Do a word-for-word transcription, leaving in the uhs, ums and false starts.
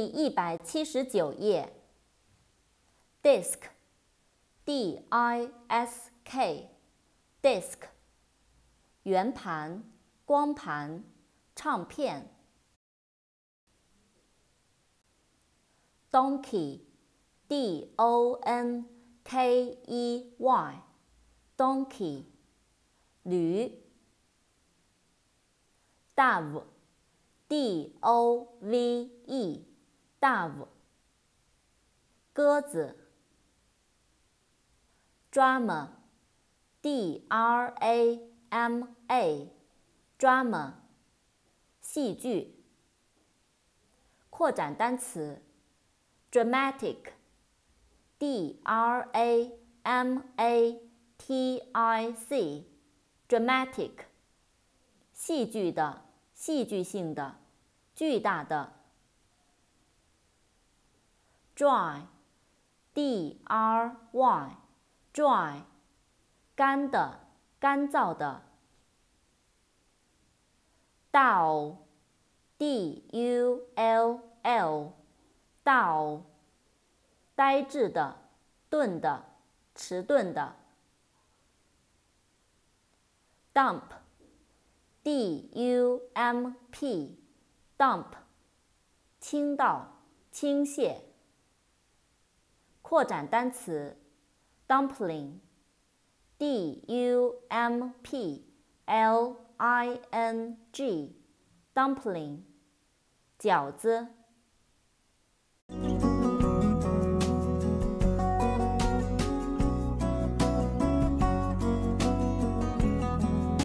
第一百七十九页 ，disk，d i s k，disk， 圆盘、光盘、唱片。donkey，d o n k e y，donkey， 驴。dove，d o v e，dove， 鸽子。drama，d r a m a，drama， 戏剧。扩展单词 dramatic，d r a m a t i c，dramatic， 戏剧的、戏剧性的、巨大的。dry，d r y，dry， 干的、干燥的。dull，d u l l，dull， 呆滞的、钝的、迟钝的。dump，d u m p，dump， 倾倒、倾泻。扩展单词 dumpling，d u m p l i n g，dumpling， 饺子。